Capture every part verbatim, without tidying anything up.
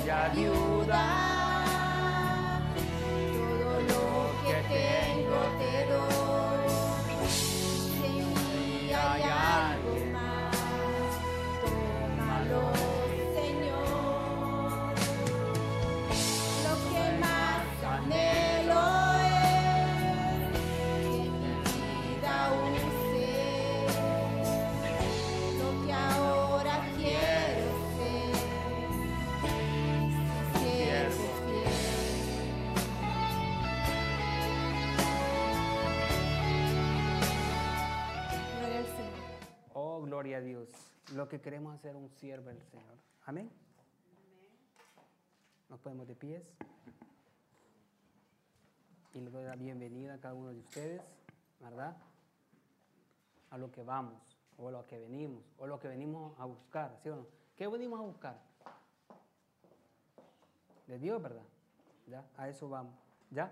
y ayuda. Todo lo que tengo te doy. Si en mí hay algo más, tómalo, Señor. Lo que más anhelo es que mi vida use lo que ahora quiero ser. Siervo fiel. Gloria al Señor. Oh, gloria a Dios. Lo que queremos hacer un siervo del Señor. Amén. Nos ponemos de pies. Y le doy la bienvenida a cada uno de ustedes, ¿verdad? A lo que vamos, o a lo que venimos, o lo que venimos a buscar, ¿sí o no? ¿Qué venimos a buscar? De Dios, ¿verdad? ¿Ya? A eso vamos. ¿Ya?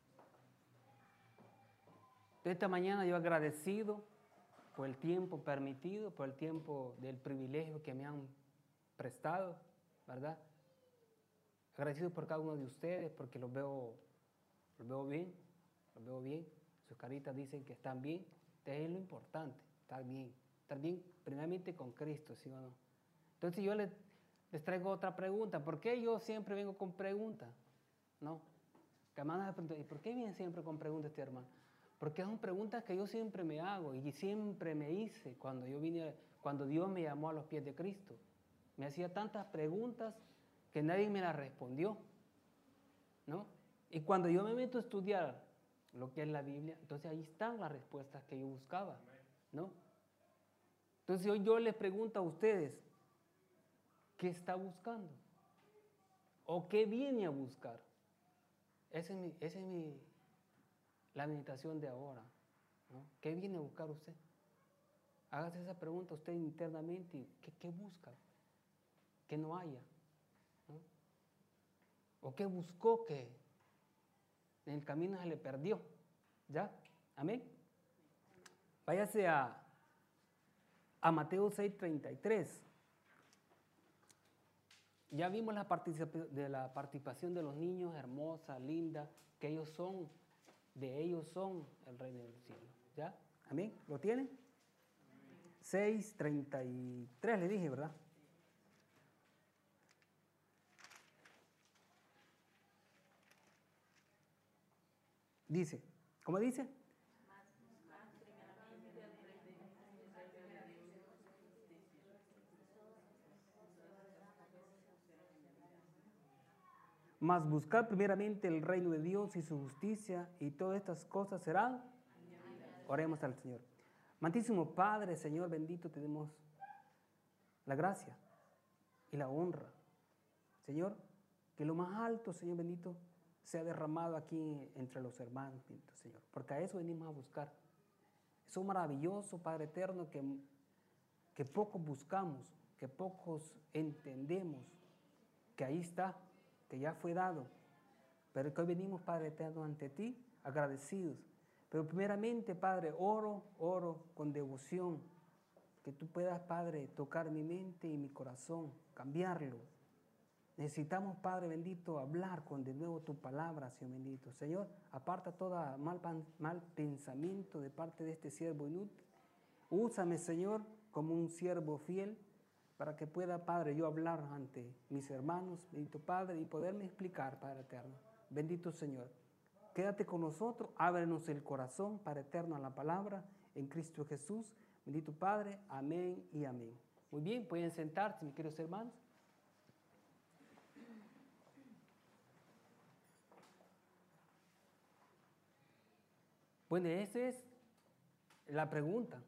Esta mañana yo agradecido por el tiempo permitido, por el tiempo del privilegio que me han prestado, ¿verdad? Agradecido por cada uno de ustedes porque los veo, los veo bien, los veo bien. Sus caritas dicen que están bien. Entonces es lo importante, estar bien. Estar bien primeramente con Cristo, ¿sí o no? Entonces yo les, les traigo otra pregunta. ¿Por qué yo siempre vengo con preguntas? ¿No? Que hermanos se preguntan, ¿y por qué vienen siempre con preguntas este hermano? Porque son preguntas que yo siempre me hago y siempre me hice cuando yo vine, cuando Dios me llamó a los pies de Cristo. Me hacía tantas preguntas que nadie me las respondió, ¿no? Y cuando yo me meto a estudiar lo que es la Biblia, entonces ahí están las respuestas que yo buscaba, ¿no? Entonces hoy yo les pregunto a ustedes, ¿qué está buscando? ¿O qué viene a buscar? Esa es mi, esa es mi, la meditación de ahora, ¿no? ¿Qué viene a buscar usted? Hágase esa pregunta usted internamente, ¿qué, qué busca? Que no haya, ¿no? ¿O qué buscó que en el camino se le perdió? ¿Ya? ¿Amén? Váyase a, a Mateo seis treinta y tres. Ya vimos la, particip- de la participación de los niños, hermosa, linda, que ellos son, de ellos son el reino del cielo. ¿Ya? ¿Amén? ¿Lo tienen? seis treinta y tres le dije, ¿verdad? Dice, ¿cómo dice? Mas buscar primeramente el reino de Dios y su justicia, y todas estas cosas serán. Oremos al Señor. Amantísimo Padre, Señor bendito, te damos la gracia y la honra. Señor, que lo más alto, Señor bendito, sea derramado aquí entre los hermanos, bendito Señor, porque a eso venimos a buscar. Eso maravilloso, Padre eterno, que, que pocos buscamos, que pocos entendemos, que ahí está, que ya fue dado, pero que hoy venimos, Padre eterno, ante ti, agradecidos. Pero primeramente, Padre, oro, oro con devoción, que tú puedas, Padre, tocar mi mente y mi corazón, cambiarlo. Necesitamos, Padre bendito, hablar con de nuevo tu palabra, Señor bendito. Señor, aparta todo mal, mal pensamiento de parte de este siervo inútil. Úsame, Señor, como un siervo fiel, para que pueda, Padre, yo hablar ante mis hermanos, bendito Padre, y poderme explicar, Padre eterno. Bendito Señor, quédate con nosotros, ábrenos el corazón, Padre eterno, a la palabra, en Cristo Jesús. Bendito Padre, amén y amén. Muy bien, pueden sentarse, mis queridos hermanos. Bueno, esa es la pregunta,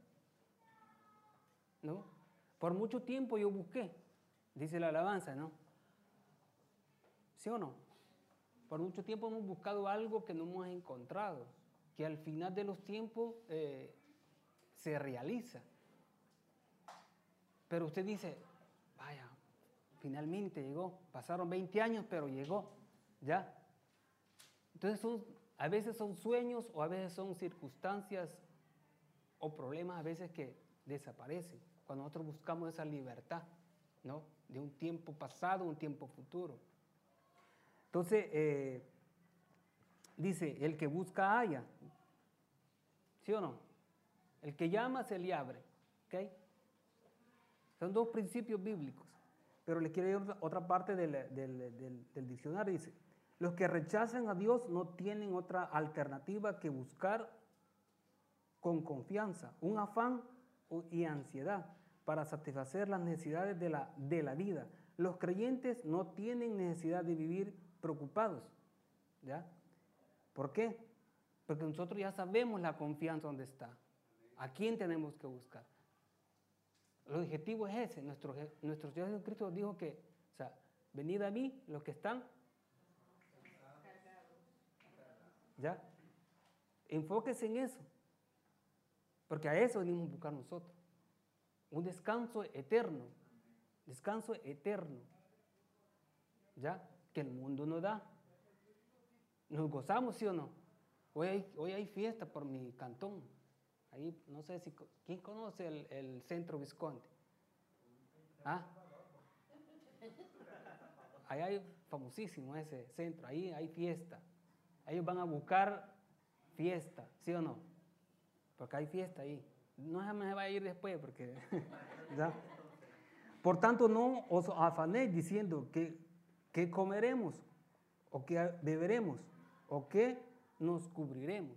¿no? Por mucho tiempo yo busqué, dice la alabanza, ¿no? ¿Sí o no? Por mucho tiempo hemos buscado algo que no hemos encontrado, que al final de los tiempos eh, se realiza. Pero usted dice, vaya, finalmente llegó, pasaron veinte años, pero llegó, ¿ya? Entonces son, a veces son sueños o a veces son circunstancias o problemas a veces que desaparecen cuando nosotros buscamos esa libertad, ¿no? de un tiempo pasado, un tiempo futuro. Entonces, eh, dice, el que busca halla, ¿sí o no? El que llama se le abre, ¿ok? Son dos principios bíblicos, pero les quiero ir otra parte del, del, del, del diccionario, dice, los que rechazan a Dios no tienen otra alternativa que buscar con confianza, un afán y ansiedad para satisfacer las necesidades de la, de la vida. Los creyentes no tienen necesidad de vivir preocupados, ¿ya? ¿Por qué? Porque nosotros ya sabemos la confianza donde está. ¿A quién tenemos que buscar? El objetivo es ese. Nuestro, nuestro Señor Jesucristo dijo que, o sea, venid a mí los que están, ¿ya? Enfóquese en eso, porque a eso venimos a buscar nosotros. Un descanso eterno, descanso eterno, ¿ya? Que el mundo no da. Nos gozamos, ¿sí o no? Hoy hay, hoy hay fiesta por mi cantón. Ahí, no sé si, ¿quién conoce el, el Centro Visconti? ¿Ah? Ahí hay famosísimo ese centro, ahí hay fiesta. Ellos van a buscar fiesta, ¿sí o no? Porque hay fiesta ahí. No se me va a ir después porque... ¿ya? Por tanto, no os afanéis diciendo que, que comeremos, o que beberemos, o que nos cubriremos.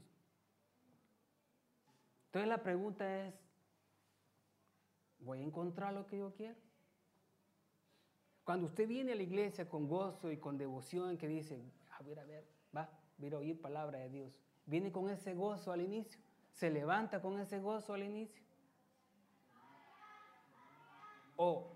Entonces la pregunta es, ¿voy a encontrar lo que yo quiero? Cuando usted viene a la iglesia con gozo y con devoción, que dice, a ver, a ver, va, voy a oír palabra de Dios. Viene con ese gozo al inicio, se levanta con ese gozo al inicio. O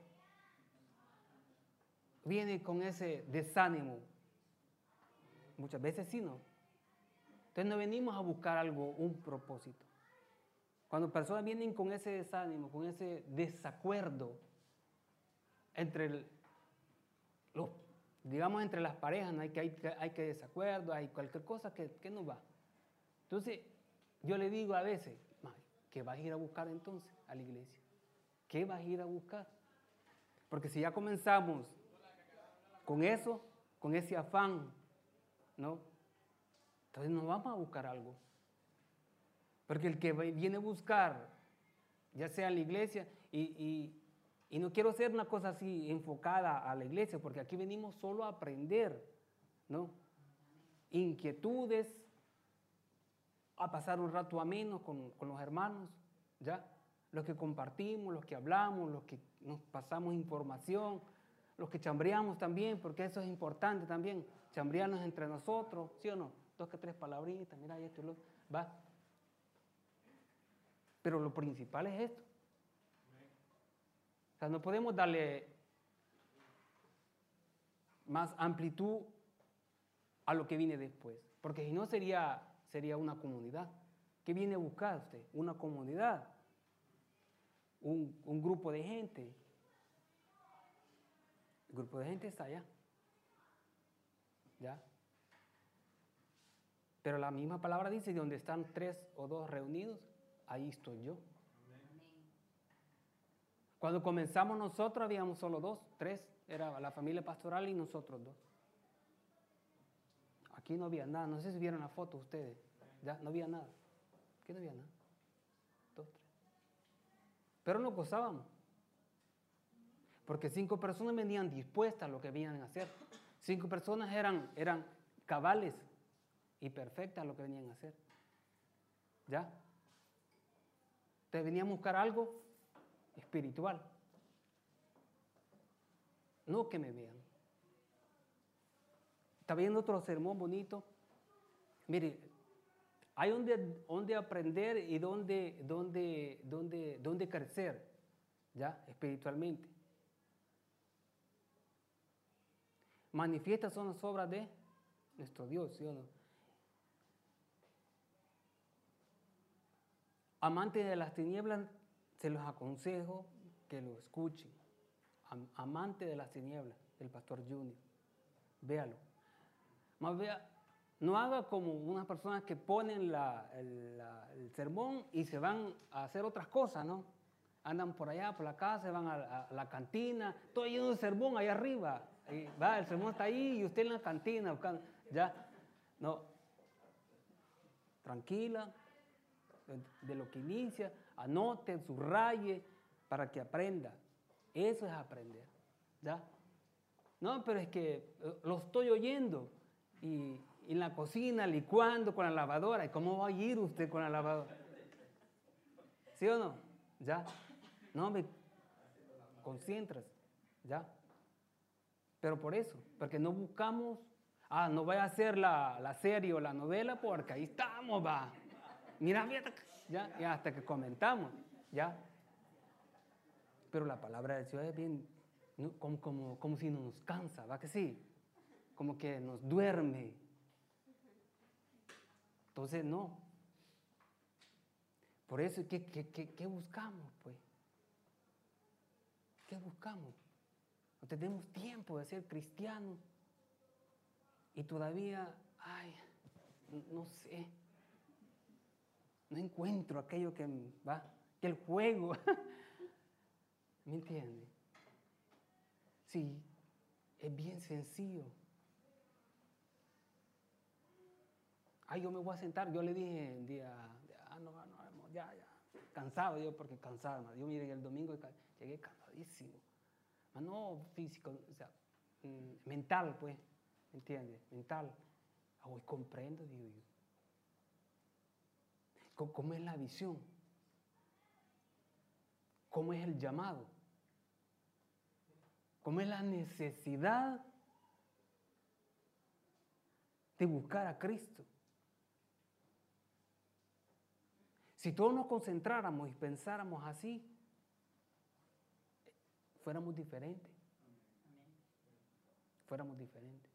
viene con ese desánimo. Muchas veces sí, ¿no? Entonces no venimos a buscar algo, un propósito. Cuando personas vienen con ese desánimo, con ese desacuerdo entre el, los, digamos entre las parejas, ¿no? hay, que, hay, hay que desacuerdo, hay cualquier cosa que, que no va. Entonces yo le digo a veces, ¿qué vas a ir a buscar entonces a la iglesia? ¿Qué vas a ir a buscar? Porque si ya comenzamos con eso, con ese afán, ¿no? Entonces nos vamos a buscar algo. Porque el que viene a buscar, ya sea en la iglesia, y, y, y no quiero hacer una cosa así enfocada a la iglesia, porque aquí venimos solo a aprender, ¿no? Inquietudes, a pasar un rato ameno con, con los hermanos, ¿ya? Los que compartimos, los que hablamos, los que nos pasamos información, los que chambreamos también, porque eso es importante también, chambrearnos entre nosotros, ¿sí o no? Dos que tres palabritas, mira, y esto y lo va. Pero lo principal es esto. O sea, no podemos darle más amplitud a lo que viene después, porque si no sería, sería una comunidad. ¿Qué viene a buscar usted? Una comunidad, un, un grupo de gente. El grupo de gente está allá, ¿ya? Pero la misma palabra dice, donde están tres o dos reunidos, ahí estoy yo. Cuando comenzamos nosotros habíamos solo dos, tres, era la familia pastoral y nosotros dos. Aquí no había nada, no sé si vieron la foto ustedes, ya no había nada. Aquí no había nada. Dos, tres. Pero nos gozábamos. Porque cinco personas venían dispuestas a lo que venían a hacer. Cinco personas eran, eran cabales y perfectas a lo que venían a hacer. ¿Ya? Entonces veníamos a buscar algo espiritual. No que me vean. Está viendo otro sermón bonito. Mire, hay donde, donde aprender y donde, donde, donde, donde crecer, ¿ya? Espiritualmente. Manifiestas son las obras de nuestro Dios, ¿sí o no? Amantes de las tinieblas, se los aconsejo que lo escuchen. Am amante de las tinieblas, del pastor Junior. Véalo. Más vea, no haga como unas personas que ponen la, el, la, el sermón y se van a hacer otras cosas, ¿no? Andan por allá, por la casa, van a, a- a la cantina, todo lleno de sermón allá arriba. Y va, el sermón está ahí y usted en la cantina buscando. Ya, no. Tranquila, de, de lo que inicia, anote, subraye, para que aprenda. Eso es aprender. ¿Ya? No, pero es que eh, lo estoy oyendo. Y, y en la cocina, licuando con la lavadora. ¿Y cómo va a ir usted con la lavadora? ¿Sí o no? ¿Ya? No, me concentras. ¿Ya? Pero por eso, porque no buscamos, ah, no vaya a hacer la, la serie o la novela porque ahí estamos, va. Mira, fíjate, ya, y hasta que comentamos, ya. Pero la palabra del Señor es bien, ¿no? como, como, como si no nos cansa, ¿va que sí? Como que nos duerme. Entonces, no. Por eso, ¿qué, qué, qué, qué buscamos, pues? ¿Qué buscamos? No tenemos tiempo de ser cristianos y todavía, ay, no sé, no encuentro aquello que va, que el juego, ¿me entiende? Sí, es bien sencillo. Ay, yo me voy a sentar, yo le dije un día, ah, no, no, ya, ya, cansado yo, porque cansado, yo mire, el domingo llegué cansadísimo, no físico, o sea, mental, pues, ¿me entiende? Mental. Hoy comprendo, digo yo. ¿Cómo es la visión? ¿Cómo es el llamado? ¿Cómo es la necesidad de buscar a Cristo? Si todos nos concentráramos y pensáramos así, fuéramos diferentes. Fuéramos diferentes.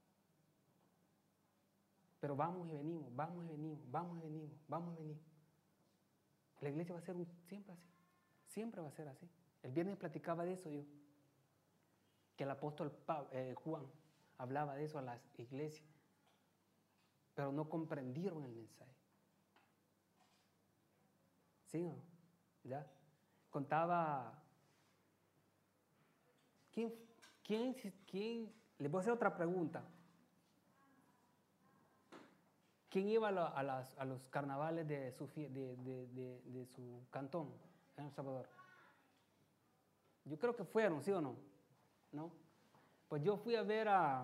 Pero vamos y venimos, vamos y venimos, vamos y venimos, vamos y venimos. La iglesia va a ser un, siempre así. Siempre va a ser así. El viernes platicaba de eso yo. Que el apóstol Pablo, eh, Juan hablaba de eso a las iglesias. Pero no comprendieron el mensaje. ¿Sí o no? ¿Ya? Contaba. ¿Quién, quién, quién? Les voy a hacer otra pregunta. ¿Quién iba a, la, a, las, a los carnavales de su, de, de, de, de su cantón en El Salvador? Yo creo que fueron, ¿sí o no? ¿No? Pues yo fui a ver a...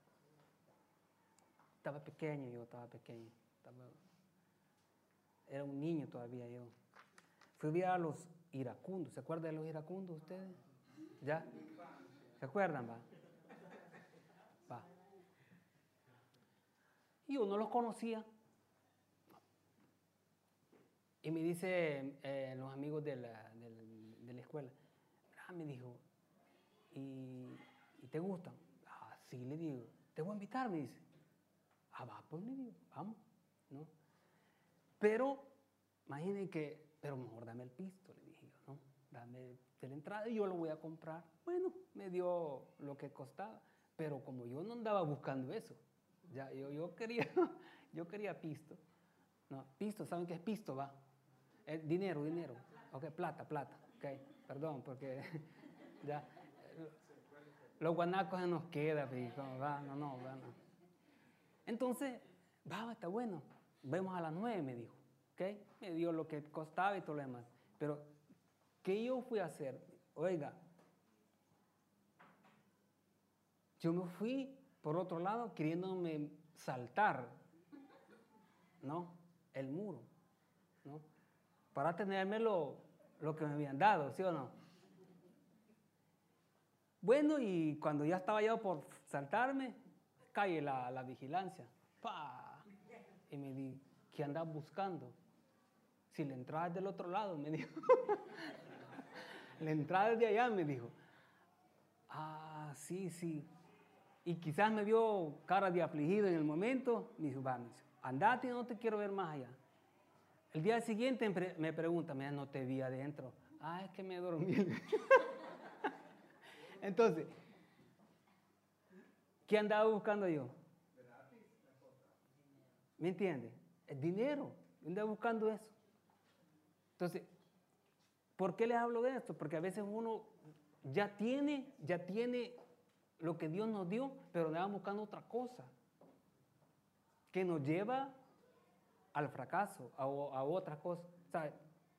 Estaba pequeño, yo estaba pequeño. Estaba, era un niño todavía yo. Fui a ver a los iracundos. ¿Se acuerdan de los iracundos ustedes? ¿Ya? ¿Se acuerdan, va? Va. Y yo no los conocía. Y me dice eh, los amigos de la, de la, de la escuela, ah, me dijo, ¿y, ¿y te gustan? Ah, sí, le digo, te voy a invitar, me dice. Ah, va, pues le digo, vamos, ¿no? Pero, imaginen que, pero mejor dame el pisto, le dije yo, ¿no? Dame de la entrada y yo lo voy a comprar. Bueno, me dio lo que costaba, pero como yo no andaba buscando eso, ya, yo, yo quería, yo quería pisto. No, pisto, ¿saben qué es pisto, va? Eh, dinero, dinero. Ok, plata, plata. Ok, perdón, porque ya los guanacos se nos queda, pico, va, no, no, va, no. Entonces, va, está bueno. Vemos a las nueve, me dijo. Ok, me dio lo que costaba y todo lo demás. Pero, ¿qué yo fui a hacer? Oiga, yo me fui por otro lado queriéndome saltar, ¿no? El muro, ¿no? Para tenerme lo, lo que me habían dado, ¿sí o no? Bueno, y cuando ya estaba yo por saltarme, cae la, la vigilancia. ¡Pah! Y me di, ¿qué andas buscando? Si la entrada es del otro lado, me dijo. La entrada es de allá, me dijo. Ah, sí, sí. Y quizás me vio cara de afligido en el momento. Me dijo, va, me dijo, andate, no te quiero ver más allá. El día siguiente me pregunta, mira, no te vi adentro. Ah, es que me dormí. Entonces, ¿qué andaba buscando yo? ¿Me entiende? El dinero. Yo andaba buscando eso. Entonces, ¿Por qué les hablo de esto? Porque a veces uno ya tiene, ya tiene lo que Dios nos dio, pero andamos buscando otra cosa que nos lleva al fracaso, a, a otra cosa. ¿Sabe?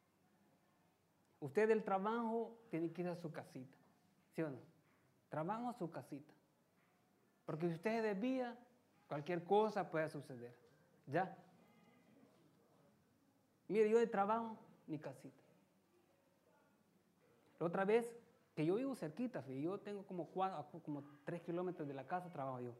Usted del trabajo tiene que ir a su casita, ¿sí o no? Trabajo a su casita. Porque si usted se desvía, cualquier cosa puede suceder. ¿Ya? Mire, yo de trabajo, mi casita. La otra vez, que yo vivo cerquita, yo tengo como, cuatro, como tres kilómetros de la casa, trabajo yo.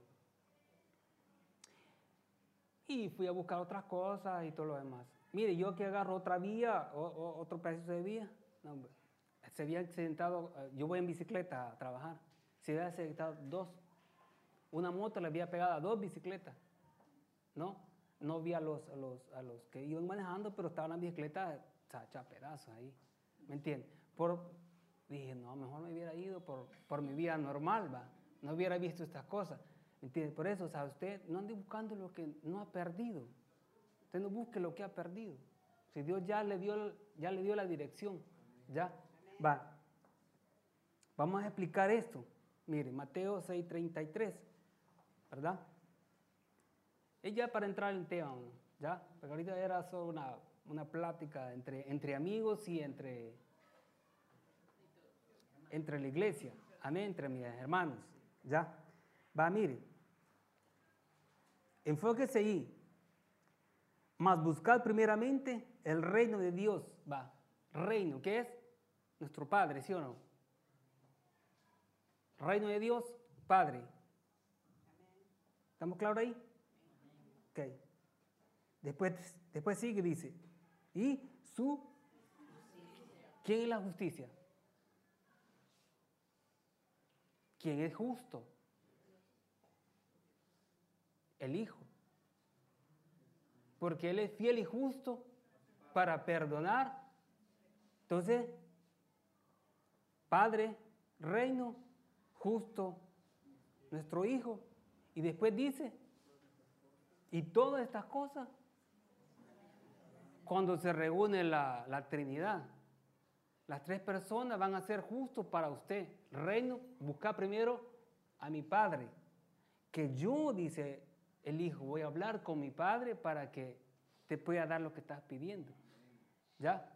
Y fui a buscar otras cosas y todo lo demás. Mire, yo que agarro otra vía, o, o, otro pedazo de vía, no, se había accidentado, yo voy en bicicleta a trabajar, se había accidentado dos. Una moto le había pegado a dos bicicletas, ¿no? No vi a los, a los, a los que iban manejando, pero estaban las bicicletas hechas pedazos ahí, ¿me entiendes? Por, dije, no, mejor me hubiera ido por, por mi vida normal, ¿va? No hubiera visto estas cosas, ¿me entiendes? Por eso, o sea, usted no ande buscando lo que no ha perdido, usted no busque lo que ha perdido. Si Dios ya le dio, ya le dio la dirección, ya, va. Vamos a explicar esto. Mire, Mateo seis treinta y tres, ¿verdad? Es ya para entrar en tema, ¿ya? Porque ahorita era solo una, una plática entre, entre amigos y entre, entre la iglesia, amén, entre mis hermanos, ¿ya? Va, mire, enfóquese ahí, mas buscad primeramente el reino de Dios, va, reino, ¿qué es? Nuestro Padre, ¿sí o no? Reino de Dios, Padre. ¿Estamos claros ahí? Ok. Después, después sigue, dice, y su... ¿Quién es la justicia? ¿Quién es justo? El Hijo. Porque Él es fiel y justo para perdonar. Entonces, Padre, reino, justo, nuestro Hijo. Y después dice, y todas estas cosas, cuando se reúne la, la Trinidad, las tres personas van a ser justos para usted. Reino, busca primero a mi Padre, que yo, dice el Hijo, voy a hablar con mi Padre para que te pueda dar lo que estás pidiendo. ¿Ya?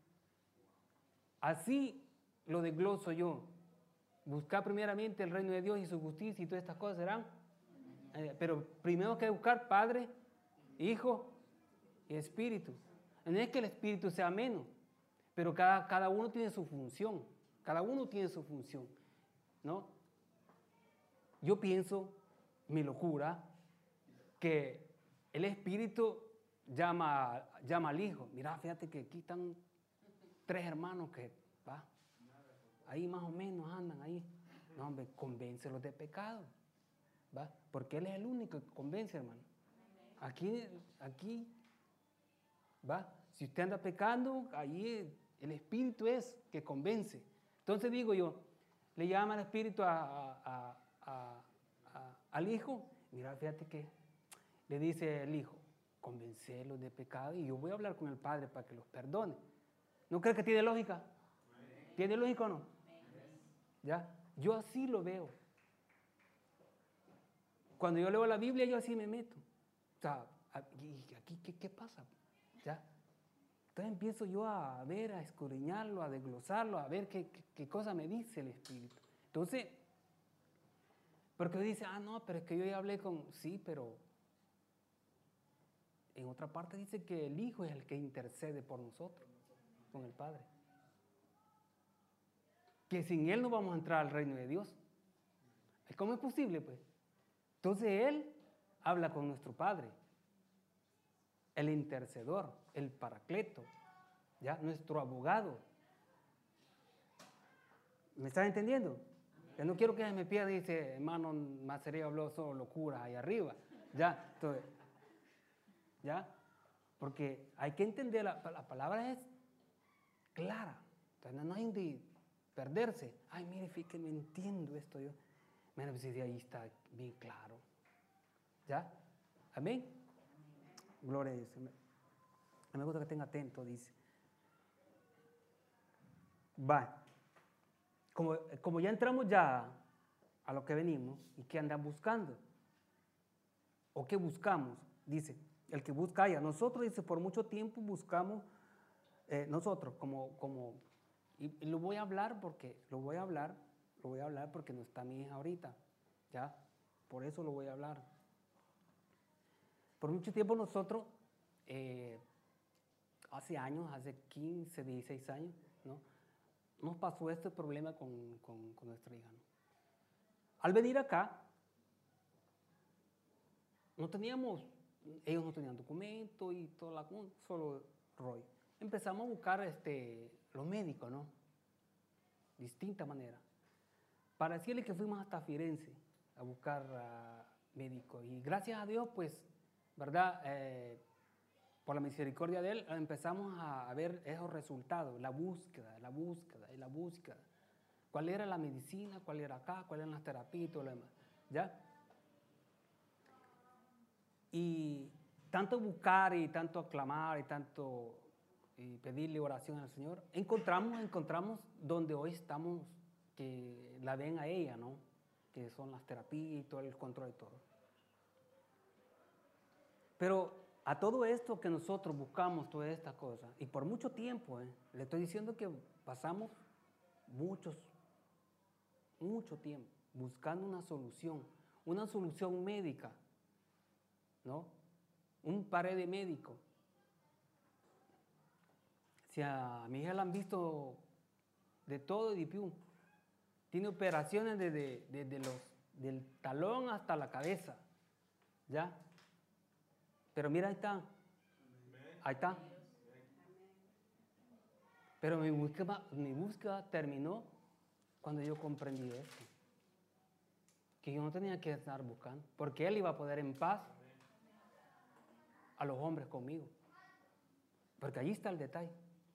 Así lo desgloso yo. Buscar primeramente el reino de Dios y su justicia y todas estas cosas serán. Eh, pero primero hay que buscar Padre, Hijo y Espíritu. No es que el Espíritu sea menos, pero cada, cada uno tiene su función. Cada uno tiene su función, ¿no? Yo pienso, mi locura, que el Espíritu llama, llama al Hijo. Mira, fíjate que aquí están tres hermanos que, va, ahí más o menos andan ahí. No, hombre, convéncelos de pecado, va, porque Él es el único que convence, hermano. Aquí, aquí, va, si usted anda pecando, ahí el Espíritu es que convence. Entonces digo yo, le llama al Espíritu a, a, a, a, al Hijo. Mira, fíjate que le dice el Hijo, convencerlos de pecado y yo voy a hablar con el Padre para que los perdone. ¿No crees que tiene lógica? ¿Tiene lógica o no? ¿Ya? Yo así lo veo. Cuando yo leo la Biblia, yo así me meto. O sea, ¿y aquí qué, qué pasa? ¿Ya? Entonces empiezo yo a ver, a escudriñarlo, a desglosarlo, a ver qué, qué, qué cosa me dice el Espíritu. Entonces, porque dice, ah, no, pero es que yo ya hablé con... Sí, pero en otra parte dice que el Hijo es el que intercede por nosotros, con el Padre. Que sin Él no vamos a entrar al reino de Dios. ¿Cómo es posible, pues? Entonces Él habla con nuestro Padre, el intercedor, el paracleto, ¿ya? Nuestro abogado. ¿Me estás entendiendo? Yo no quiero que se me pierda y dice, hermano Macería habló solo locura ahí arriba. ¿Ya? Entonces, ¿ya? Porque hay que entender, la, la palabra es clara. Entonces no hay de perderse. Ay, mire, fíjate, me entiendo esto yo. Mira, pues ahí está bien claro. ¿Ya? Amén. Gloria a Dios. Me gusta que estén atentos, dice. Va. Como, como ya entramos ya a lo que venimos y qué andan buscando. ¿O qué buscamos? Dice, el que busca haya. Nosotros, dice, por mucho tiempo buscamos, eh, nosotros como, como, y, y lo voy a hablar porque, lo voy a hablar, lo voy a hablar porque no está mi hija ahorita, ¿ya? Por eso lo voy a hablar. Por mucho tiempo nosotros, eh, hace años, hace quince, dieciséis años, ¿no? Nos pasó este problema con, con, con nuestra hija, ¿no? Al venir acá, no teníamos, ellos no tenían documento y todo la, solo rollo. Empezamos a buscar este, los médicos, ¿no? Distinta manera. Para decirle que fuimos hasta Firenze a buscar uh, médicos. Y gracias a Dios, pues, ¿verdad? Eh, por la misericordia de Él, empezamos a, a ver esos resultados, la búsqueda, la búsqueda y la búsqueda. ¿Cuál era la medicina? ¿Cuál era acá? ¿Cuáles eran las terapias y todo lo demás? ¿Ya? Y tanto buscar y tanto aclamar y tanto y pedirle oración al Señor, encontramos, encontramos donde hoy estamos, que la ven a ella, ¿no? Que son las terapias y todo el control y todo. Pero a todo esto que nosotros buscamos, todas estas cosas, y por mucho tiempo, ¿eh? Le estoy diciendo que pasamos muchos, mucho tiempo buscando una solución, una solución médica, ¿no? Un par de médicos. Si a mi hija la han visto de todo y de piú, tiene operaciones desde, desde los, del talón hasta la cabeza, ¿ya? Pero mira, ahí está, ahí está. Pero mi búsqueda, mi búsqueda terminó cuando yo comprendí esto, que yo no tenía que estar buscando, porque Él iba a poder en paz a los hombres conmigo, porque allí está el detalle.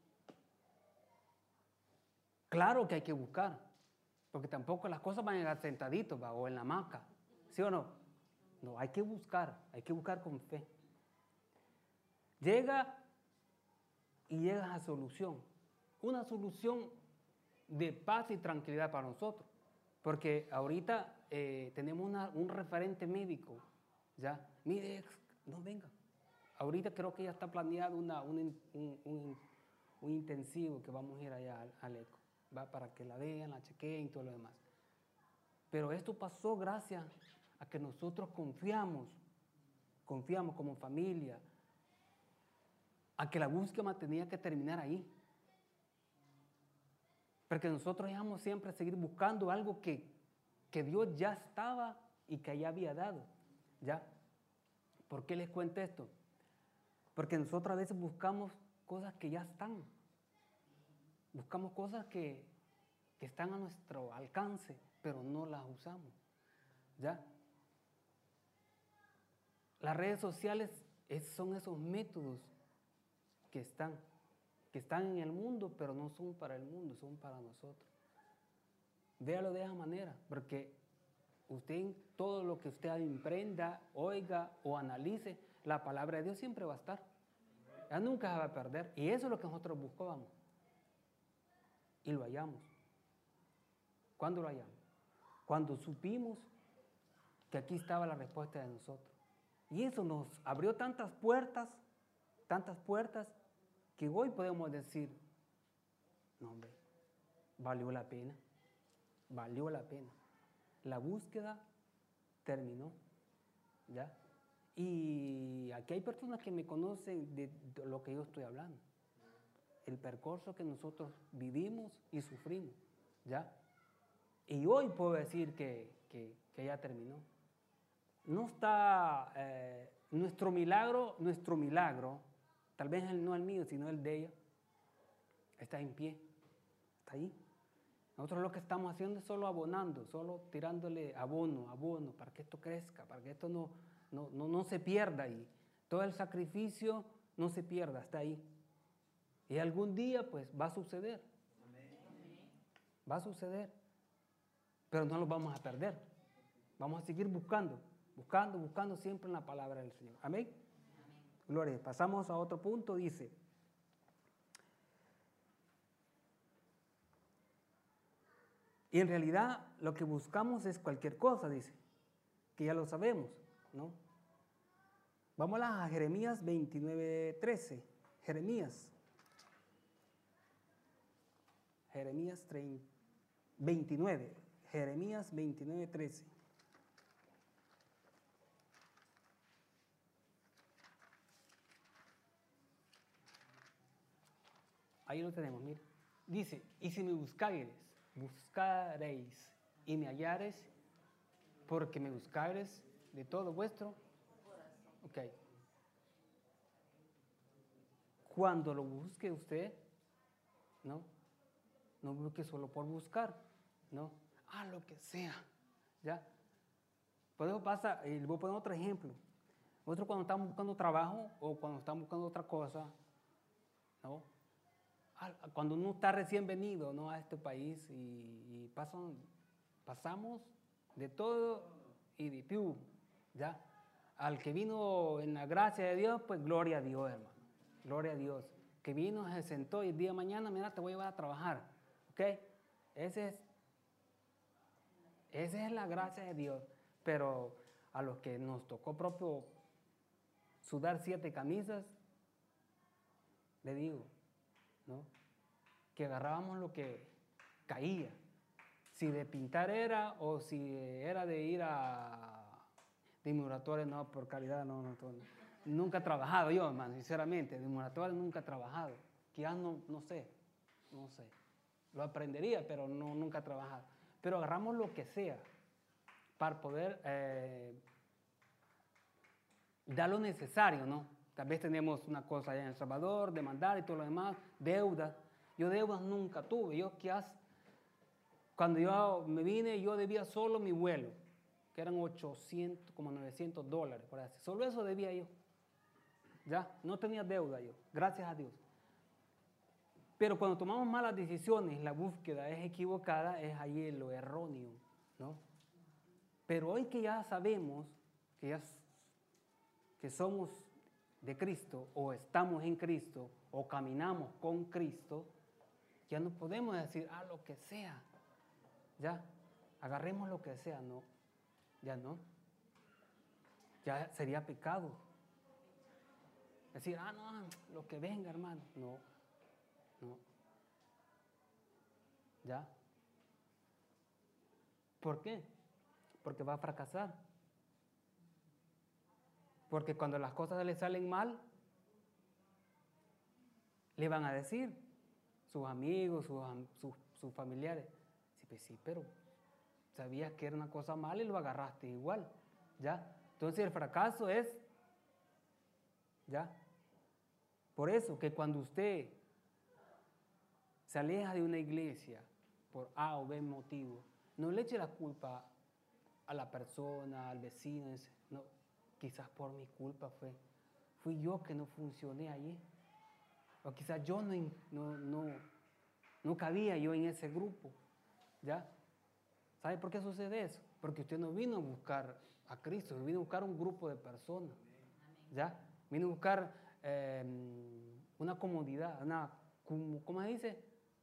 Claro que hay que buscar, porque tampoco las cosas van a llegar sentaditos, ¿va? O en la hamaca, ¿sí o no? No, hay que buscar, hay que buscar con fe. Llega y llegas a solución, una solución de paz y tranquilidad para nosotros, porque ahorita eh, tenemos una, un referente médico, ¿ya? Mire, ex, no venga. Ahorita creo que ya está planeado una, un, un, un, un intensivo que vamos a ir allá al, al ECO, ¿va? Para que la vean, la chequeen y todo lo demás. Pero esto pasó gracias a que nosotros confiamos, confiamos como familia, a que la búsqueda tenía que terminar ahí. Porque nosotros íbamos siempre a seguir buscando algo que, que Dios ya estaba y que ya había dado, ¿ya? ¿Por qué les cuento esto? Porque nosotros a veces buscamos cosas que ya están. Buscamos cosas que, que están a nuestro alcance, pero no las usamos, ¿ya? Las redes sociales es, son esos métodos que están, que están en el mundo, pero no son para el mundo, son para nosotros. Véalo de esa manera, porque usted, todo lo que usted emprenda, oiga o analice, la palabra de Dios siempre va a estar. Ya nunca se va a perder. Y eso es lo que nosotros buscábamos. Y lo hallamos. ¿Cuándo lo hallamos? Cuando supimos que aquí estaba la respuesta de nosotros. Y eso nos abrió tantas puertas, tantas puertas, que hoy podemos decir, no hombre, valió la pena, valió la pena. La búsqueda terminó, ¿ya? Y aquí hay personas que me conocen de lo que yo estoy hablando. El percurso que nosotros vivimos y sufrimos, ¿ya? Y hoy puedo decir que, que, que ya terminó. No está eh, nuestro milagro, nuestro milagro, tal vez no el mío, sino el de ella, está en pie, está ahí. Nosotros lo que estamos haciendo es solo abonando, solo tirándole abono, abono, para que esto crezca, para que esto no, no, no, no se pierda ahí. Todo el sacrificio no se pierda, está ahí. Y algún día pues va a suceder. Va a suceder. Pero no lo vamos a perder. Vamos a seguir buscando, buscando, buscando siempre en la palabra del Señor. Amén. Gloria. Pasamos a otro punto, dice. Y en realidad lo que buscamos es cualquier cosa, dice, que ya lo sabemos, ¿no? Vamos a Jeremías veintinueve, trece. Jeremías. Jeremías veintinueve. Jeremías veintinueve, trece. Ahí lo tenemos, mire. Dice, y si me buscareis, buscaréis y me hallares, porque me buscaréis de todo vuestro corazón. Ok. Cuando lo busque usted, ¿no? No busque solo por buscar, ¿no? Ah, lo que sea, ¿ya? Por eso pasa, y le voy a poner otro ejemplo. Nosotros cuando estamos buscando trabajo o cuando estamos buscando otra cosa, ¿no? Cuando uno está recién venido, ¿no?, a este país y, y pasan, pasamos de todo y de piu, ¿ya? Al que vino en la gracia de Dios, pues gloria a Dios, hermano. Gloria a Dios. Que vino, se sentó y el día de mañana, mira, te voy a llevar a trabajar, ¿ok? Ese es, esa es la gracia de Dios. Pero a los que nos tocó propio sudar siete camisas, le digo, ¿no?, que agarrábamos lo que caía, si de pintar era o si era de ir a dimuratorio, no, por calidad, no, no, no, nunca he trabajado yo, hermano, sinceramente, dimuratorio nunca he trabajado, quizás no, no sé, no sé, lo aprendería, pero no, nunca he trabajado, pero agarramos lo que sea para poder eh, dar lo necesario, ¿no? Tal vez tenemos una cosa allá en El Salvador, demandar y todo lo demás, deudas. Yo deudas nunca tuve. Yo quizás, cuando yo me vine, yo debía solo mi vuelo, que eran ochocientos, como novecientos dólares, por así. Solo eso debía yo. Ya, no tenía deuda yo, gracias a Dios. Pero cuando tomamos malas decisiones, la búsqueda es equivocada, es ahí lo erróneo, ¿no? Pero hoy que ya sabemos que ya que somos de Cristo, o estamos en Cristo, o caminamos con Cristo, ya no podemos decir, ah, lo que sea, ya, agarremos lo que sea, no, ya no, ya sería pecado. Decir, ah, no, lo que venga, hermano, no, no, ya. ¿Por qué? Porque va a fracasar. Porque cuando las cosas le salen mal, le van a decir sus amigos, sus, sus, sus familiares, sí, pues sí, pero sabías que era una cosa mala y lo agarraste igual, ¿ya? Entonces el fracaso es, ¿ya? Por eso que cuando usted se aleja de una iglesia por A o B motivo, no le eche la culpa a la persona, al vecino, no, quizás por mi culpa fue, fui yo que no funcioné allí. O quizás yo no, no, no, no cabía yo en ese grupo, ¿ya? ¿Sabe por qué sucede eso? Porque usted no vino a buscar a Cristo, vino a buscar un grupo de personas, ¿ya? Vino a buscar eh, una comodidad, una, ¿cómo se dice?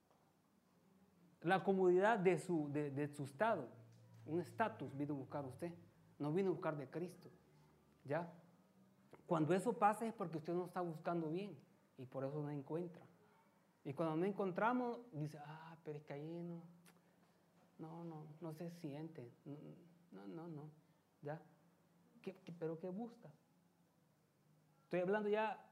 La comodidad de su, de, de su estado, un estatus vino a buscar usted, no vino a buscar de Cristo, ¿ya? Cuando eso pasa es porque usted no está buscando bien. Y por eso no encuentra. Y cuando no encontramos, dice, ah, pero es que ahí no, no, no, no se siente. No, no, no, ¿ya? ¿Qué, qué, pero qué busca? Estoy hablando ya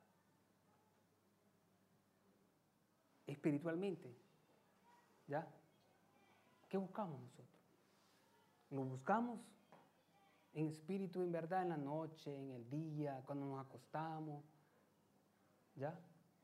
espiritualmente, ¿ya? ¿Qué buscamos nosotros? ¿Lo buscamos en espíritu, en verdad, en la noche, en el día, cuando nos acostamos? ¿Ya?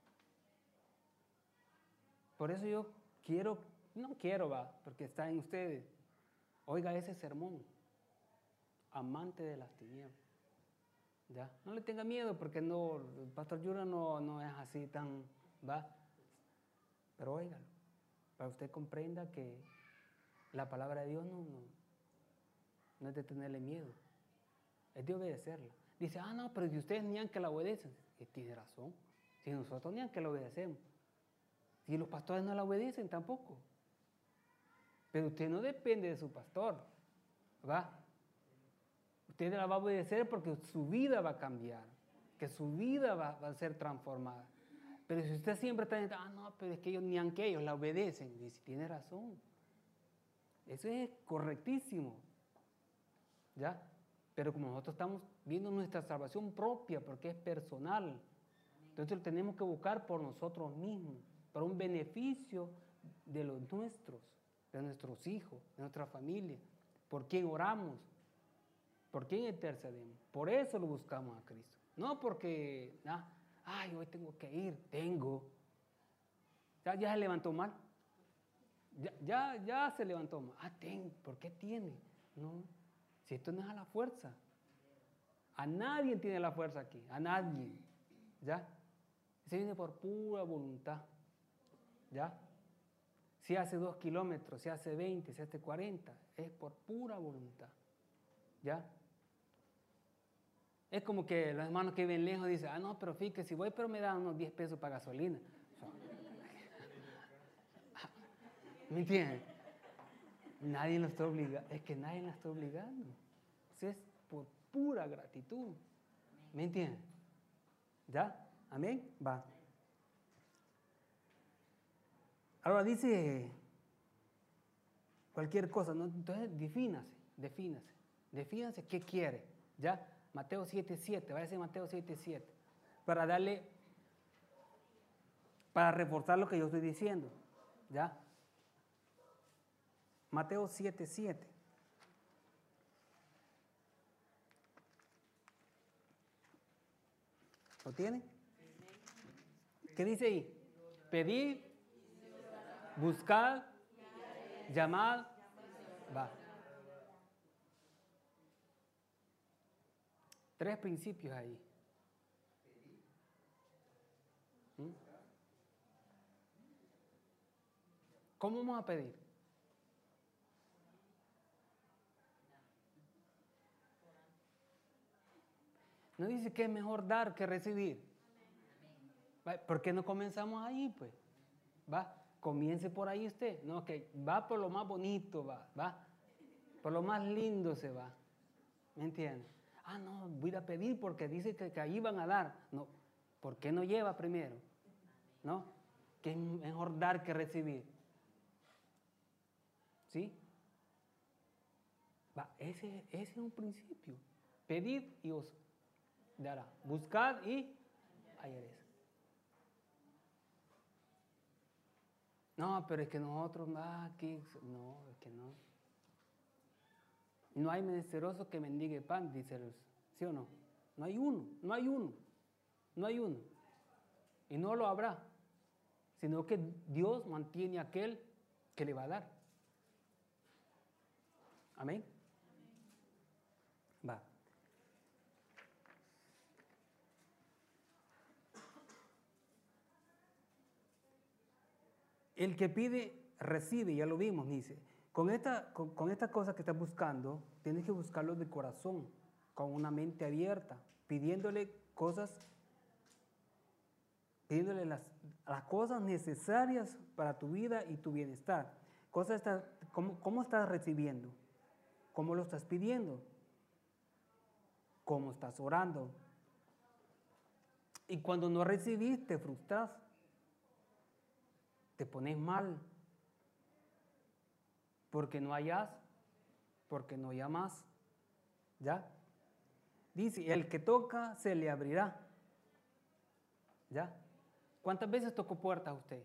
Por eso yo quiero, no quiero, va, porque está en ustedes. Oiga ese sermón, amante de las tinieblas. ¿Ya? No le tenga miedo porque no, el pastor Yura no, no es así tan, va. Pero óigalo, para que usted comprenda que la palabra de Dios no, no, no es de tenerle miedo, es de obedecerla. Dice, ah, no, pero si ustedes ni que la obedecen, y tiene razón. Si nosotros ni que la obedecemos. Si los pastores no la obedecen, tampoco. Pero usted no depende de su pastor, ¿va? Usted la va a obedecer porque su vida va a cambiar, que su vida va, va a ser transformada. Pero si usted siempre está diciendo, ah, no, pero es que ellos ni aunque ellos la obedecen, dice, tiene razón. Eso es correctísimo, ¿ya? Pero como nosotros estamos viendo nuestra salvación propia, porque es personal, entonces lo tenemos que buscar por nosotros mismos, para un beneficio de los nuestros, de nuestros hijos, de nuestra familia, por quién oramos, por quién intercedemos. Por eso lo buscamos a Cristo. No porque, ah, ay, hoy tengo que ir, tengo. Ya, ya se levantó mal. Ya, ya, ya se levantó mal. Ah, tengo, ¿por qué tiene? No, si esto no es a la fuerza. A nadie tiene la fuerza aquí, a nadie. ¿Ya? Se viene por pura voluntad. ¿Ya? Si hace dos kilómetros, si hace veinte, si hace cuarenta, es por pura voluntad. ¿Ya? Es como que los hermanos que viven lejos dicen, ah, no, pero fíjate, si voy, pero me dan unos diez pesos para gasolina. ¿Me entienden? Nadie lo está obligando, es que nadie la está obligando. Eso es por pura gratitud. ¿Me entienden? ¿Ya? ¿Amén? Va. Ahora dice cualquier cosa, ¿no? Entonces defínase, defínase, defínase qué quiere, ¿ya? Mateo siete siete, vaya a decir Mateo siete siete, para darle, para reforzar lo que yo estoy diciendo, ¿ya? Mateo siete siete. ¿Lo tiene? ¿Qué dice ahí? Pedid, buscad, llamad, va. Tres principios ahí. ¿Mm? ¿Cómo vamos a pedir? No dice que es mejor dar que recibir. ¿Por qué no comenzamos ahí, pues? Va, comience por ahí usted. No, que va por lo más bonito, va, va. Por lo más lindo se va. ¿Me entiende? Ah, no, voy a pedir porque dice que, que ahí van a dar. No, ¿por qué no lleva primero? ¿No? Que es mejor dar que recibir. ¿Sí? Va, ese, ese es un principio. Pedid y os dará. Buscad y hallaréis. No, pero es que nosotros, ah, aquí, no, es que no. No hay menesteroso que mendigue pan, dice el, ¿sí o no? No hay uno, no hay uno, no hay uno. Y no lo habrá, sino que Dios mantiene a aquel que le va a dar. Amén. Va. El que pide, recibe, ya lo vimos, dice. Con esta, con, con esta cosa que estás buscando, tienes que buscarlo de corazón, con una mente abierta, pidiéndole cosas, pidiéndole las, las cosas necesarias para tu vida y tu bienestar. Cosas está, ¿cómo, ¿Cómo estás recibiendo? ¿Cómo lo estás pidiendo? ¿Cómo estás orando? Y cuando no recibís, te frustras, te pones mal, porque no hayas, porque no llamas, ¿ya? Dice, el que toca se le abrirá, ¿ya? ¿Cuántas veces tocó puertas usted?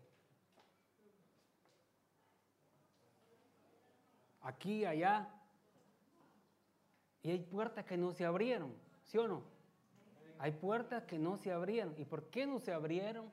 Aquí, allá, y hay puertas que no se abrieron, ¿sí o no? Hay puertas que no se abrieron. ¿Y por qué no se abrieron?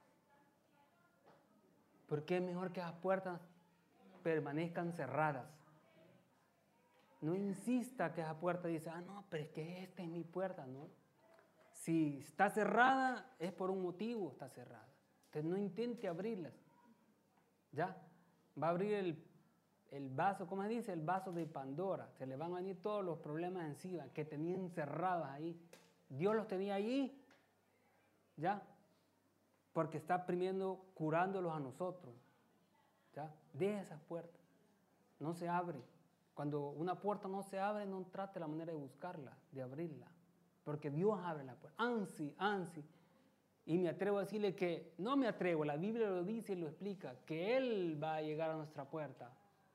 Porque es mejor que las puertas permanezcan cerradas. No insista que esa puerta dice, ah, no, pero es que esta es mi puerta, ¿no? Si está cerrada, es por un motivo está cerrada. Entonces no intente abrirlas. ¿Ya? Va a abrir el, el vaso, ¿cómo se dice? El vaso de Pandora. Se le van a venir todos los problemas encima que tenían cerrados ahí. Dios los tenía allí. ¿Ya? Porque está primero curándolos a nosotros. ¿Ya? Deja esas puertas. no se abre. Cuando una puerta no se abre, no trate la manera de buscarla, de abrirla. Porque Dios abre la puerta. Ansi, ansi. Y me atrevo a decirle que, no me atrevo, la Biblia lo dice y lo explica, que Él va a llegar a nuestra puerta.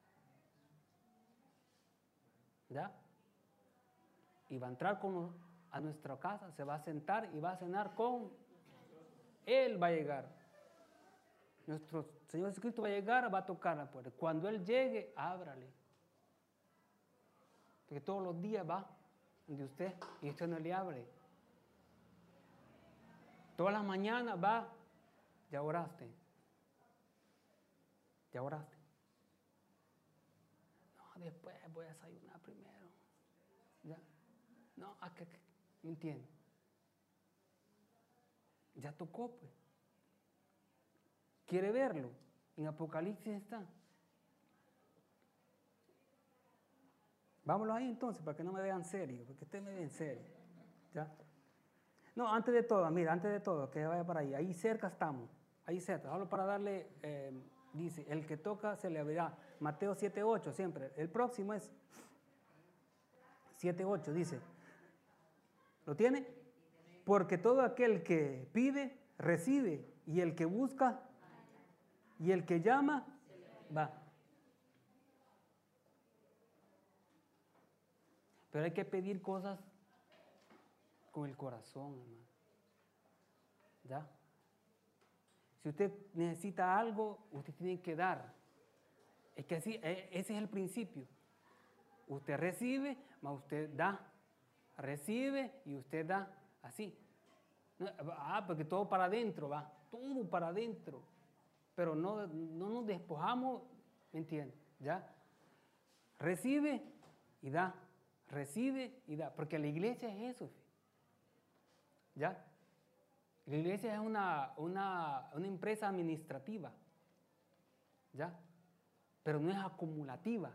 ¿Ya? Y va a entrar con, a nuestra casa, se va a sentar y va a cenar con Él, va a llegar. Nuestro Señor Jesucristo va a llegar, va a tocar la puerta. Cuando Él llegue, ábrale. Porque todos los días va de usted y usted no le abre. Todas las mañanas va, ya oraste. Ya oraste. No, después voy a desayunar primero. ¿Ya? No, ¿a qué? ¿Me entiende? Ya tocó, pues. ¿Quiere verlo? En Apocalipsis está. Vámonos ahí entonces, para que no me vean serio, porque usted me ve en serio. ¿Ya? No, antes de todo, mira, antes de todo, que vaya para ahí. Ahí cerca estamos, ahí cerca. Solo para darle, eh, dice, el que toca se le abrirá. Mateo siete ocho siempre. El próximo es siete ocho, dice. ¿Lo tiene? Porque todo aquel que pide, recibe. Y el que busca, y el que llama, va. Pero hay que pedir cosas con el corazón, hermano. ¿Ya? Si usted necesita algo, usted tiene que dar. Es que así, ese es el principio. Usted recibe, más usted da. Recibe y usted da. Así. Ah, porque todo para adentro va. Todo para adentro. Pero no, no nos despojamos, ¿me entiende? ¿Ya? Recibe y da. Recibe y da. Porque la iglesia es eso. ¿Ya? La iglesia es una, una, una empresa administrativa. ¿Ya? Pero no es acumulativa.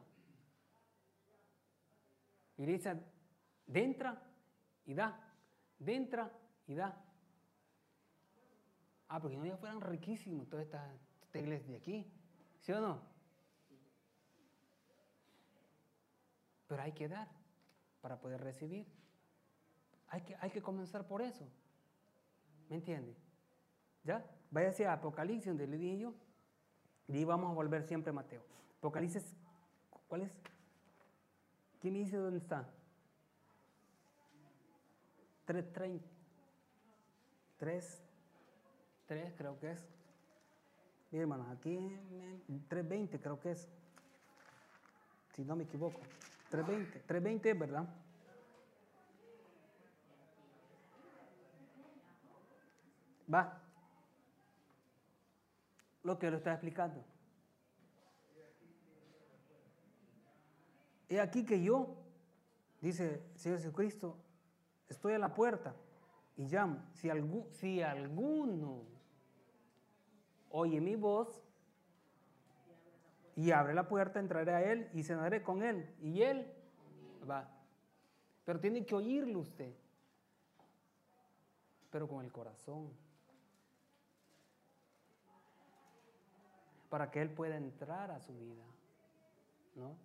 La iglesia entra y da. Entra y da. Ah, porque no ya fueran riquísimos todas estas esta iglesias de aquí. ¿Sí o no? Pero hay que dar para poder recibir. Hay que, hay que comenzar por eso. ¿Me entiende? ¿Ya? Váyase a Apocalipsis, donde le dije yo. Y vamos a volver siempre a Mateo. Apocalipsis, ¿cuál es? ¿Quién me dice dónde está? tres treinta. tres, tres creo que es. Mira, hermanos, aquí tres veinte creo que es. Si no me equivoco. tres veinte. tres veinte es, ¿verdad? Va. Lo que lo está explicando. He aquí que yo, dice el Señor Jesucristo, estoy a la puerta y llamo. Si, algún, si alguno oye mi voz y abre la puerta, entraré a él y cenaré con él. Y él va. Pero tiene que oírlo usted. Pero con el corazón. Para que él pueda entrar a su vida. ¿No?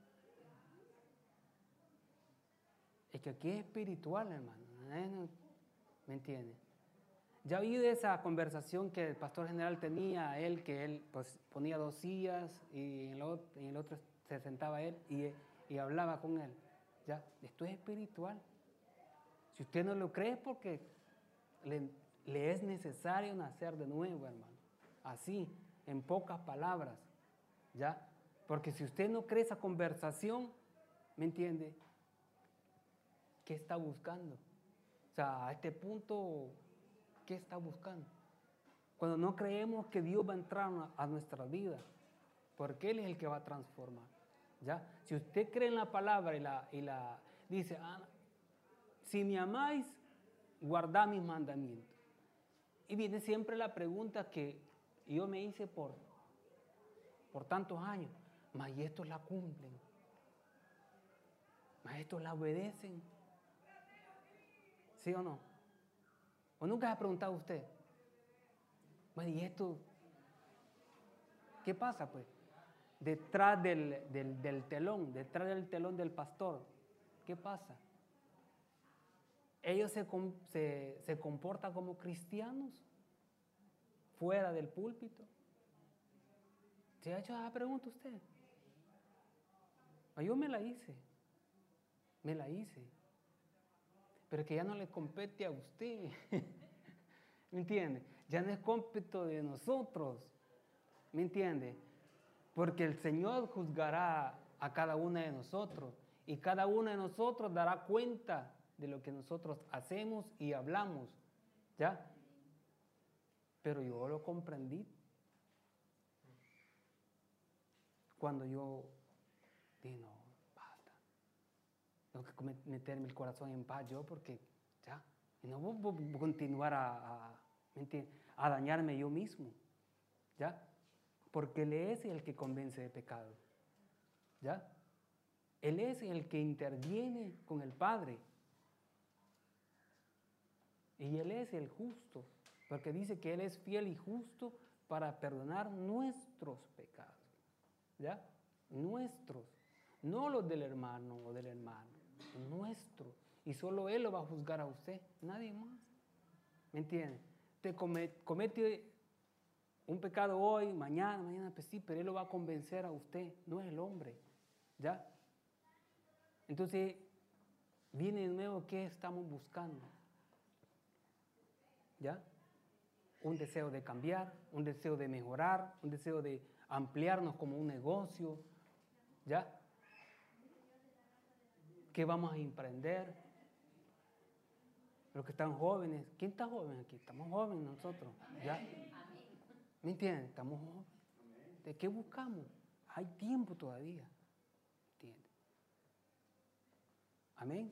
Es que aquí es espiritual, hermano. ¿Me entiende? Ya oí de esa conversación que el pastor general tenía, él, que él pues, ponía dos sillas y en el otro, en el otro se sentaba él y, y hablaba con él. Ya, esto es espiritual. Si usted no lo cree es porque le, le es necesario nacer de nuevo, hermano. Así, en pocas palabras. ¿Ya? Porque si usted no cree esa conversación, ¿me entiende? ¿Qué está buscando? O sea, a este punto, ¿qué está buscando? Cuando no creemos que Dios va a entrar a nuestra vida, porque Él es el que va a transformar. ¿Ya? Si usted cree en la palabra y la, y la dice, ah, si me amáis, guardad mis mandamientos. Y viene siempre la pregunta que yo me hice por, por tantos años, mas y estos la cumplen, mas estos la obedecen. ¿Sí o no? ¿O nunca se ha preguntado usted? Bueno, ¿y esto? ¿Qué pasa pues? detrás del, del, del telón, detrás del telón del pastor, ¿qué pasa? Ellos se, se, se comportan como cristianos fuera del púlpito. ¿Se ha hecho esa pregunta usted? Yo me la hice, me la hice, pero que ya no le compete a usted, ¿me entiende? Ya no es cómpeto de nosotros, ¿me entiende? Porque el Señor juzgará a cada uno de nosotros y cada uno de nosotros dará cuenta de lo que nosotros hacemos y hablamos, ¿ya? Pero yo lo comprendí cuando yo dije, no, basta, tengo que meterme el corazón en paz yo porque ya, y no voy a continuar a, a, a dañarme yo mismo, ¿ya? Porque Él es el que convence de pecado, ¿ya? Él es el que interviene con el Padre. Y Él es el justo, porque dice que Él es fiel y justo para perdonar nuestros pecados, ¿ya? Nuestros, no los del hermano o del hermano, nuestros. Y solo Él lo va a juzgar a usted, nadie más. ¿Me entiende? Te comete, comete un pecado hoy, mañana, mañana, pues sí, pero Él lo va a convencer a usted, no es el hombre, ¿ya? Entonces, viene de nuevo, ¿qué estamos buscando? ¿Ya? Un deseo de cambiar, un deseo de mejorar, un deseo de ampliarnos como un negocio, ¿ya? ¿Qué vamos a emprender? Los que están jóvenes, ¿quién está joven aquí? Estamos jóvenes nosotros, ¿ya? ¿Me entienden? Estamos jóvenes. ¿De qué buscamos? Hay tiempo todavía, ¿entiendes? Amén.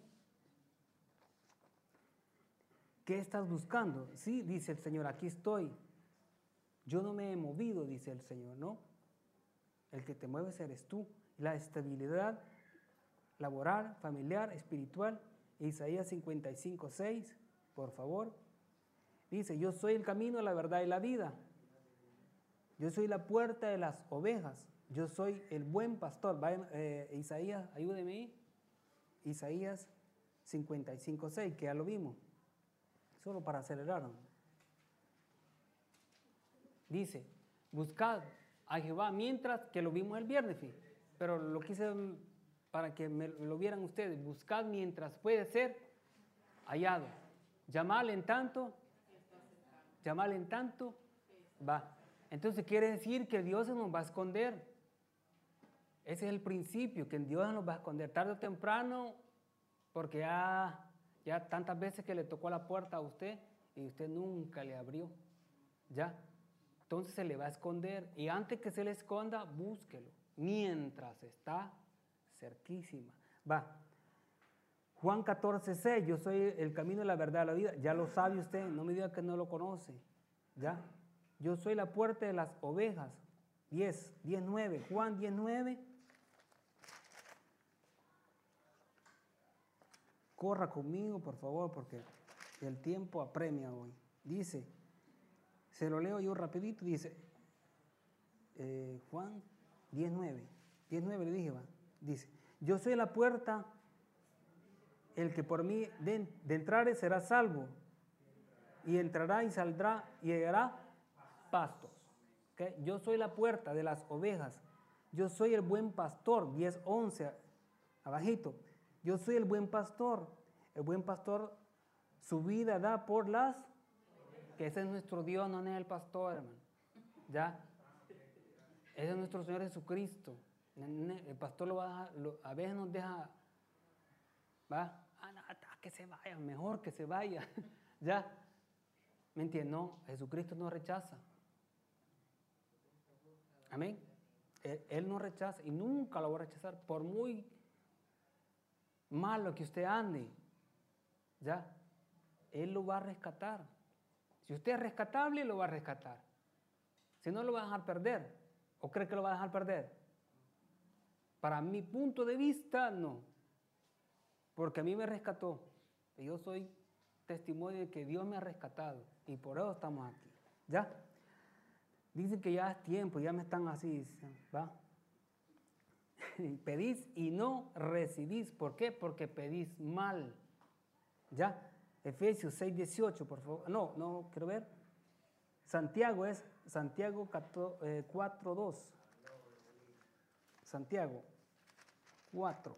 ¿Qué estás buscando? Sí, dice el Señor, aquí estoy. Yo no me he movido, dice el Señor, ¿no? El que te mueves eres tú. La estabilidad laboral, familiar, espiritual. Isaías cincuenta y cinco, seis, por favor. Dice, yo soy el camino, la verdad y la vida. Yo soy la puerta de las ovejas. Yo soy el buen pastor. Vaya, eh, Isaías, ayúdeme ahí. Isaías cincuenta y cinco, seis, que ya lo vimos. Solo para acelerar. Dice, buscad a Jehová mientras, que lo vimos el viernes, pero lo quise para que me lo vieran ustedes. Buscad mientras puede ser hallado. Llamadle en tanto, llamadle en tanto, va. Entonces quiere decir que Dios se nos va a esconder. Ese es el principio, que Dios nos va a esconder tarde o temprano, porque ya... Ya tantas veces que le tocó la puerta a usted y usted nunca le abrió, ¿ya? Entonces se le va a esconder y antes que se le esconda, búsquelo, mientras está cerquísima. Va, Juan catorce, seis, yo soy el camino, la verdad, la vida. Ya lo sabe usted, no me diga que no lo conoce, ¿ya? Yo soy la puerta de las ovejas. diez, diez, nueve, Juan diez, nueve. Corra conmigo, por favor, porque el tiempo apremia hoy. Dice, se lo leo yo rapidito, dice, eh, Juan diez, nueve, diez, nueve le dije, va. Dice, yo soy la puerta, el que por mí de, de entrar será salvo, y entrará y saldrá y hallará pastos. ¿Okay? Yo soy la puerta de las ovejas, yo soy el buen pastor, diez, once, abajito. Yo soy el buen pastor. El buen pastor su vida da por las, que ese es nuestro Dios, no es el pastor, hermano. ¿Ya? Ese es nuestro Señor Jesucristo. El pastor lo va a dejar, lo, a veces nos deja, va, ah, no, que se vaya, mejor que se vaya. ¿Ya? ¿Me entiendes? No, Jesucristo no rechaza. Amén. Él, él no rechaza y nunca lo va a rechazar, por muy malo que usted ande, ¿ya? Él lo va a rescatar. Si usted es rescatable, lo va a rescatar. Si no, lo va a dejar perder. ¿O cree que lo va a dejar perder? Para mi punto de vista, no. Porque a mí me rescató. Y yo soy testimonio de que Dios me ha rescatado. Y por eso estamos aquí, ¿ya? Dicen que ya es tiempo, ya me están así, ¿va? pedís y no recibís. ¿Por qué? Porque pedís mal. ¿Ya? Efesios seis dieciocho, por favor. No, no, quiero ver. Santiago es Santiago cuatro dos. Santiago cuatro.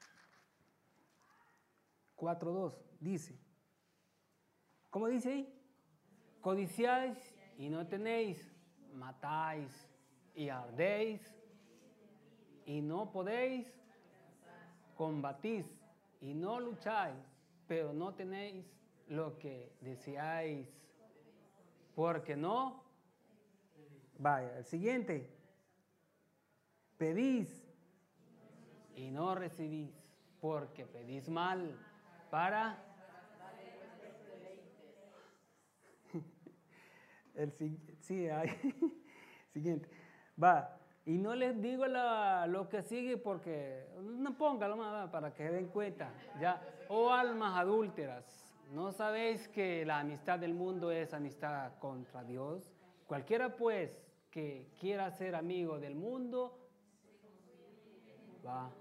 cuatro dos dice. ¿Cómo dice ahí? Codiciáis y no tenéis, matáis y ardéis y no podéis, combatís y no lucháis, pero no tenéis lo que deseáis, porque no. Vaya, el siguiente. Pedís y no recibís, porque pedís mal para el sí, hay. Siguiente. Va. Y no les digo la, lo que sigue porque no póngalo más para que se den cuenta. Ya. Oh almas adúlteras, ¿no sabéis que la amistad del mundo es amistad contra Dios? Cualquiera pues que quiera ser amigo del mundo, va.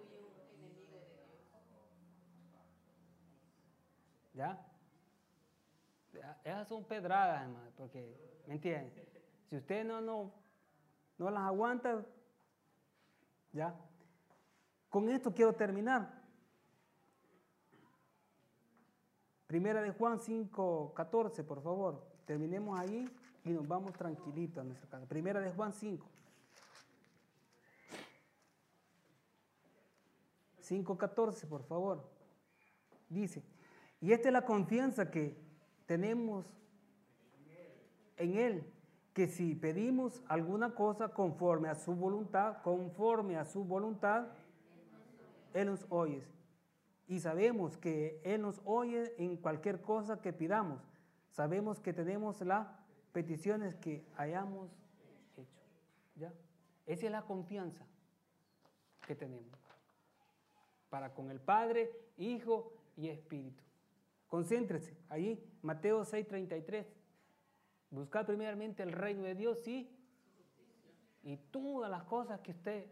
¿Ya? Esas son pedradas, hermano, porque, ¿me entienden? Si usted no, no, no las aguanta, ¿ya? Con esto quiero terminar. Primera de Juan cinco catorce, por favor. Terminemos ahí y nos vamos tranquilitos a nuestra casa. Primera de Juan cinco. cinco catorce, por favor. Dice, y esta es la confianza que tenemos en Él, que si pedimos alguna cosa conforme a su voluntad, conforme a su voluntad, Él nos oye. Y sabemos que Él nos oye en cualquier cosa que pidamos. Sabemos que tenemos las peticiones que hayamos hecho. ¿Ya? Esa es la confianza que tenemos para con el Padre, Hijo y Espíritu. Concéntrese allí, Mateo seis treinta y tres. Buscar primeramente el reino de Dios, sí, y todas las cosas que usted,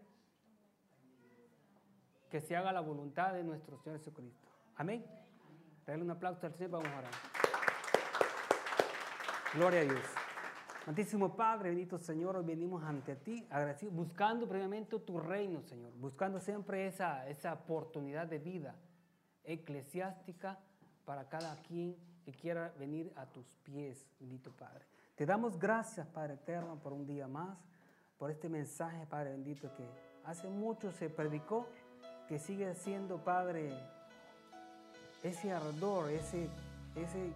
que se haga la voluntad de nuestro Señor Jesucristo. Amén. Dale un aplauso al Señor, vamos a orar. Gloria a Dios. Santísimo Padre, bendito Señor, hoy venimos ante ti, agradecidos, buscando primeramente tu reino, Señor, buscando siempre esa, esa oportunidad de vida eclesiástica para cada quien que quiera venir a tus pies, bendito Padre. Te damos gracias, Padre eterno, por un día más, por este mensaje, Padre bendito, que hace mucho se predicó, que sigue siendo, Padre, ese ardor, ese, ese,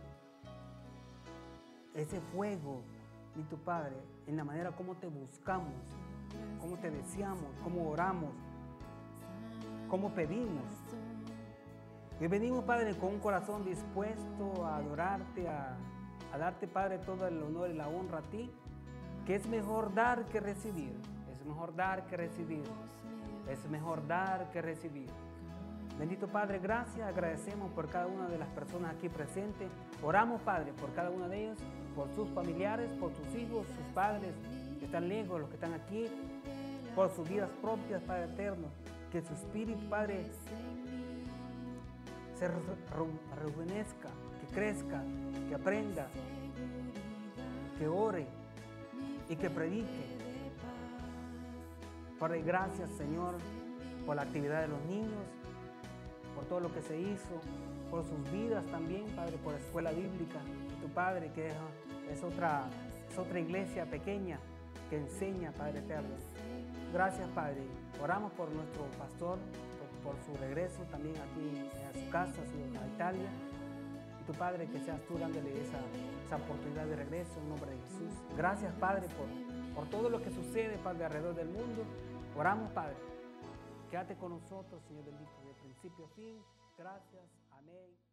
ese fuego, bendito Padre, en la manera como te buscamos, cómo te deseamos, cómo oramos, cómo pedimos. Y venimos, Padre, con un corazón dispuesto a adorarte, a, a darte, Padre, todo el honor y la honra a ti, que es mejor dar que recibir, es mejor dar que recibir, es mejor dar que recibir. Bendito Padre, gracias, agradecemos por cada una de las personas aquí presentes, oramos, Padre, por cada uno de ellos, por sus familiares, por sus hijos, sus padres que están lejos, los que están aquí, por sus vidas propias, Padre eterno, que su espíritu, Padre, se rejuvenezca, que crezca, que aprenda, que ore y que predique. Padre, gracias, Señor, por la actividad de los niños, por todo lo que se hizo, por sus vidas también, Padre, por la escuela bíblica. Y tu Padre, que es, es, otra, es otra iglesia pequeña que enseña, Padre eterno. Gracias, Padre. Oramos por nuestro pastor, por su regreso también aquí a su casa, a, su, a Italia. Y tu Padre, que seas tú dándole esa, esa oportunidad de regreso en nombre de Jesús. Gracias, Padre, por, por todo lo que sucede, Padre, alrededor del mundo. Oramos, Padre. Quédate con nosotros, Señor bendito, de principio a fin. Gracias. Amén.